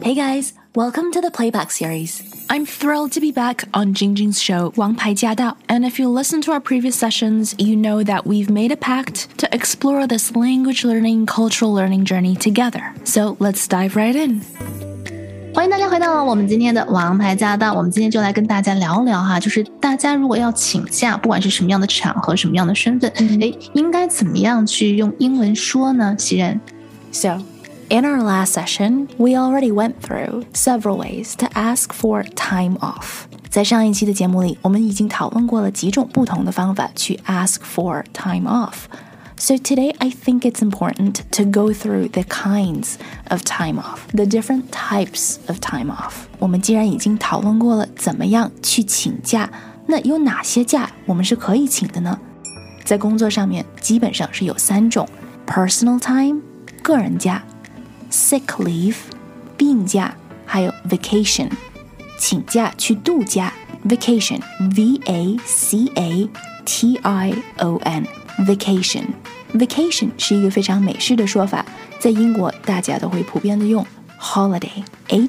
Hey guys, welcome to the Playback series. I'm thrilled to be back on Jingjing's show, 王牌驾到. And if you listen to our previous sessions, you know that we've made a pact to explore this language learning, cultural learning journey together. So let's dive right in. 欢迎大家回到我们今天的王牌驾到。我们今天就来跟大家聊聊哈，就是大家如果要请假，不管是什么样的场合、什么样的身份，应该怎么样去用英文说呢？袭人 So, in our last session, we already went through several ways to ask for time off. 在上一期的节目里，我们已经讨论过了几种不同的方法去 ask for time off.So today, I think it's important to go through the kinds of time off, the different types of time off. 我们既然已经讨论过了怎么样去请假，那有哪些假我们是可以请的呢？在工作上面基本上是有3种 personal time 个人假 sick leave 病假还有 vacation 请假去度假 vacation V-A-C-A-T-I-O-N Vacation 是一个非常美式的说法，在英国大家都会普遍的用 holiday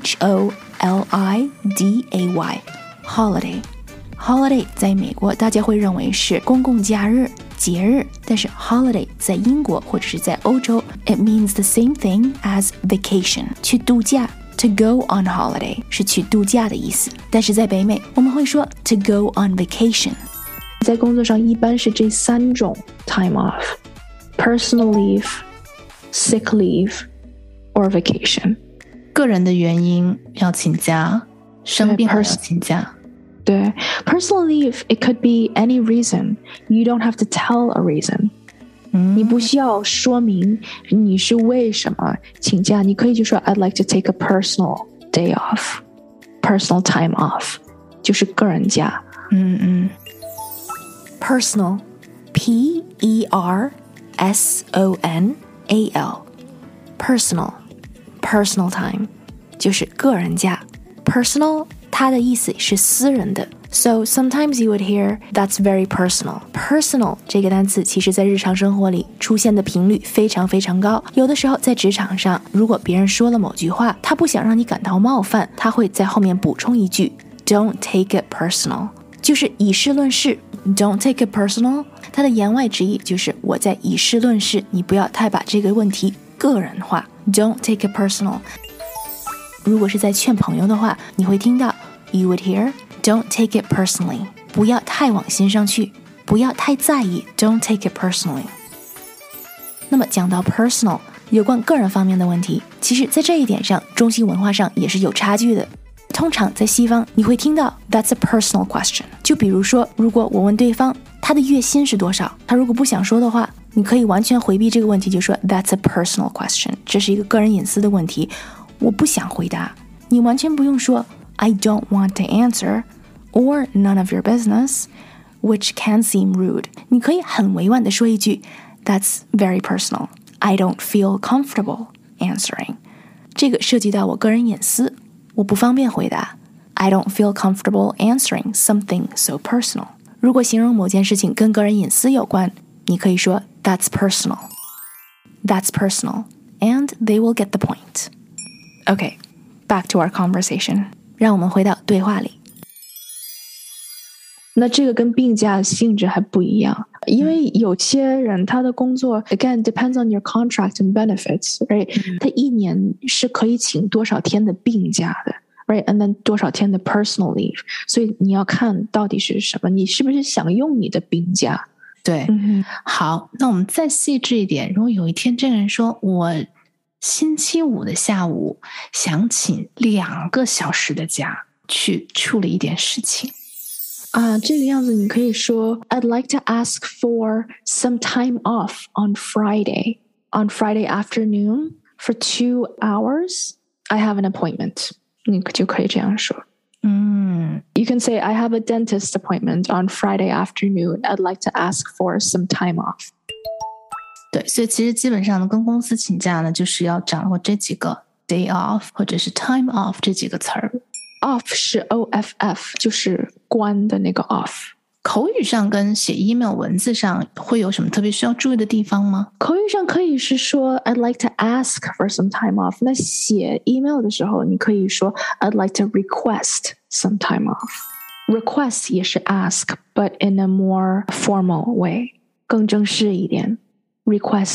H-O-L-I-D-A-Y holiday 在美国大家会认为是公共假日节日，但是 holiday 在英国或者是在欧洲 it means the same thing as vacation 去度假To go on holiday 是去度假的意思，但是在北美我们会说 to go on vacation在工作上一般是这3种 time off personal leave, sick leave, or vacation 个人的原因要请假生病要请假对 personal leave, it could be any reason You don't have to tell a reason你不需要说明你是为什么请假你可以就说 I'd like to take a personal day off Personal time off 就是个人假Personal P-E-R-S-O-N-A-L Personal time 就是个人假 Personal 它的意思是私人的 So sometimes you would hear that's very personal Personal 这个单词其实在日常生活里出现的频率非常非常高有的时候在职场上如果别人说了某句话他不想让你感到冒犯他会在后面补充一句 Don't take it personal 就是以事论事Don't take it personal 它的言外之意就是我在以事论事你不要太把这个问题个人化 Don't take it personal 如果是在劝朋友的话你会听到 You would hear Don't take it personally 不要太往心上去不要太在意 Don't take it personally 那么讲到 personal 有关个人方面的问题其实在这一点上中西文化上也是有差距的通常在西方你会听到 That's a personal question 就比如说如果我问对方他的月薪是多少他如果不想说的话你可以完全回避这个问题就说 That's a personal question 这是一个个人隐私的问题我不想回答你完全不用说 I don't want to answer or none of your business which can seem rude 你可以很委婉地说一句 That's very personal I don't feel comfortable answering 这个涉及到我个人隐私我不方便回答 I don't feel comfortable answering something so personal 如果形容某件事情跟个人隐私有关你可以说 That's personal and they will get the point Okay, back to our conversation 让我们回到对话里那这个跟病假性质还不一样因为有些人他的工作 again depends on your contract and benefits right 他一年是可以请多少天的病假的 right and then 多少天的 personal leave 所以你要看到底是什么你是不是想用你的病假对好那我们再细致一点如果有一天这个人说我星期五的下午想请2个小时的假去处理一点事情这个样子你可以说 I'd like to ask for some time off on Friday afternoon for 2 hours I have an appointment 你就可以这样说You can say I have a dentist appointment on Friday afternoon I'd like to ask for some time off 对所以其实基本上呢跟公司请假呢就是要掌握这几个 day off 或者是 time off 这几个词儿 Off 是 OFF 就是关的那个 off 口语上跟写 email 文字上会有什么特别需要注意的地方吗？ 口语上可以是说 I'd like to ask for some time off， 那写 email 的时候你可以说 I'd like to request some time off。 request 也是 ask but in a more formal way， 更正式一点， request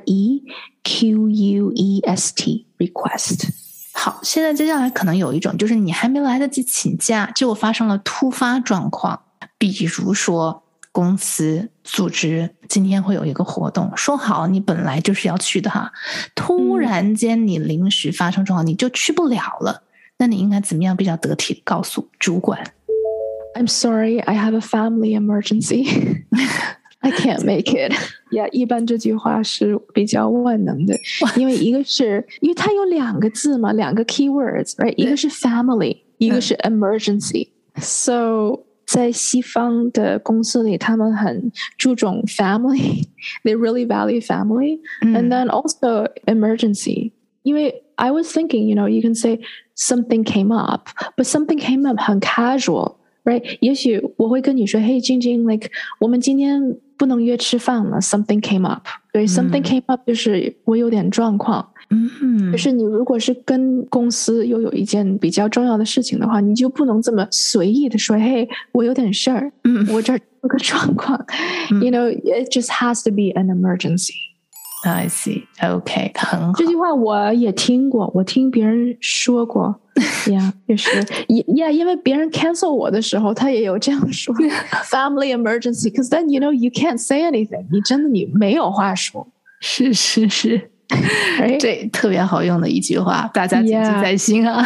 R-E-Q-U-E-S-T request。 好，现在接下来可能有一种就是你还没来得及请假，结果发生了突发状况，比如说公司组织今天会有一个活动，说好你本来就是要去的哈，突然间你临时发生状况，你就去不了了，那你应该怎么样比较得体告诉主管？ I'm sorry, I have a family emergency. I can't make it. Yeah, 一般这句话是比较万能的，因为一个是因为它有2个字嘛，2个 keywords, right? 一个是 family， 一个是 emergency. So在西方的公司里，他们很注重 family. They really value family. And then also emergency. 因为 I was thinking, you can say something came up, but something came up 很 casual.Right? 也许我会跟你说 Hey 晶晶 like 我们今天不能约吃饭了 Something came up. 对 Something came up 就是我有点状况。就是你如果是跟公司又有一件比较重要的事情的话，你就不能这么随意的说 Hey 我有点事儿，我这儿有个状况。It just has to be an emergency. I see. OK, 很好。 这句话我也听过，我听别人说过。Yeah, 就是因为别人 cancel 我的时候，他也有这样说 family emergency, because then you can't say anything. 你真的没有话说。 是这特别好用的一句话，大家谨记在心啊。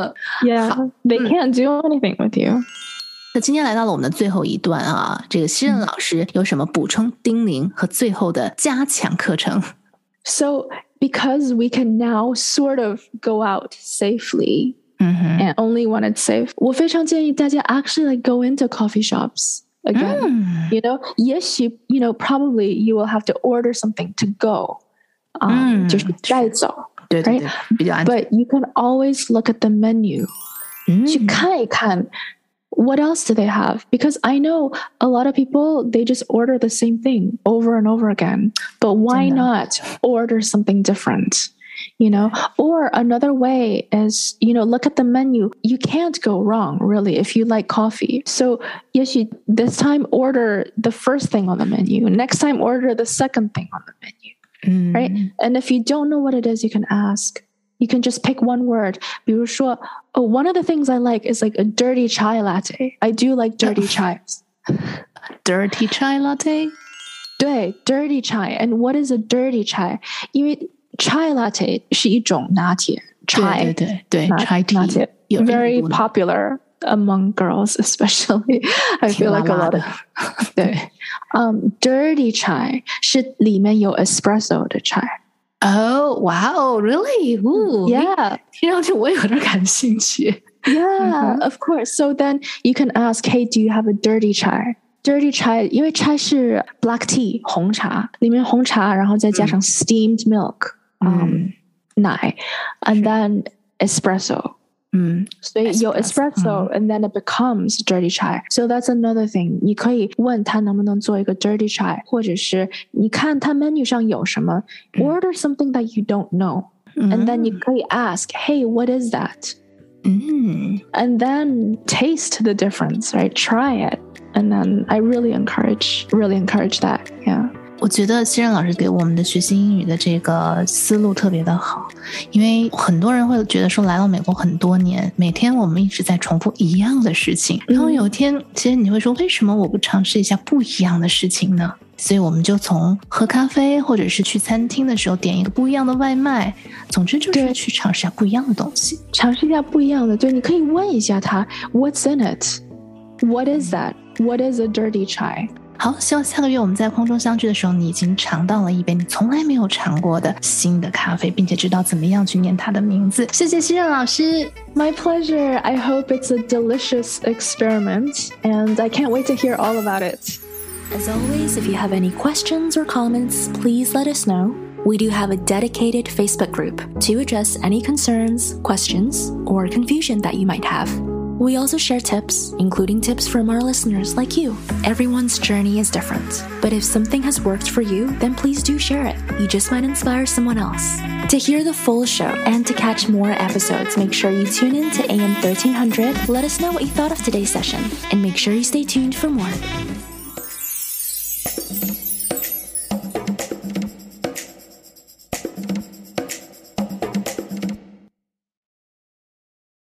Yeah, they can't do anything with you. 那今天来到了我们的最后一段啊，这个西任老师有什么补充叮咛和最后的加强课程？ So because we can now sort of go out safely and only when it's safe, 我非常建议大家 actually like go into coffee shops again. 也许probably you will have to order something to go. 就是带走。 对对对，比较安全。 But you can always look at the menu. 去看一看 what else do they have? Because I know a lot of people, they just order the same thing over and over again. But why not order something different? Or another way is, look at the menu. You can't go wrong, really, if you like coffee. So, this time order the first thing on the menu. Next time, order the second thing on the menu. Right? And if you don't know what it is, you can ask. You can just pick one word. 比如说, one of the things I like is like a dirty chai latte. I do like dirty chais. Dirty chai latte? 对, dirty chai. And what is a dirty chai? 因为 chai latte 是一种拿铁 chai. 对 chai tea. Very popular among girls, especially. I feel like a lot of 对. Dirty chai 是里面有 espresso 的 chai.Oh, wow, really? Ooh, yeah. 听上去我有点感兴趣。 Yeah, of course. So then you can ask, hey, do you have a dirty chai? Dirty chai, 因为 chai 是 black tea, 红茶，里面红茶，然后再加上 steamed milk, 奶 and then espresso. So 有 espresso and then it becomes dirty chai. So that's another thing. 你可以问他能不能做一个 dirty chai, 或者是你看他 menu 上有什么, order something that you don't know. And then 你可以 ask, hey, what is that? And then taste the difference, right? Try it. And then I really encourage that. Yeah. 我觉得西任老师给我们的学习英语的这个思路特别的好，因为很多人会觉得说来到美国很多年，每天我们一直在重复一样的事情，然后有一天其实你会说为什么我不尝试一下不一样的事情呢？所以我们就从喝咖啡或者是去餐厅的时候点一个不一样的外卖，总之就是去尝试一下不一样的东西， 尝试一下不一样的。对，你可以问一下他 What's in it? What is that? What is a dirty chai? 好，希望下个月我们在空中相聚的时候，你已经尝到了一杯你从来没有尝过的新的咖啡，并且知道怎么样去念它的名字。谢谢西任老师。 My pleasure. I hope it's a delicious experiment, and I can't wait to hear all about it. As always, if you have any questions or comments, please let us know. We do have a dedicated Facebook group to address any concerns, questions, or confusion that you might have. We also share tips, including tips from our listeners like you. Everyone's journey is different, but if something has worked for you, then please do share it. You just might inspire someone else. To hear the full show and to catch more episodes, make sure you tune in to AM 1300. Let us know what you thought of today's session, and make sure you stay tuned for more.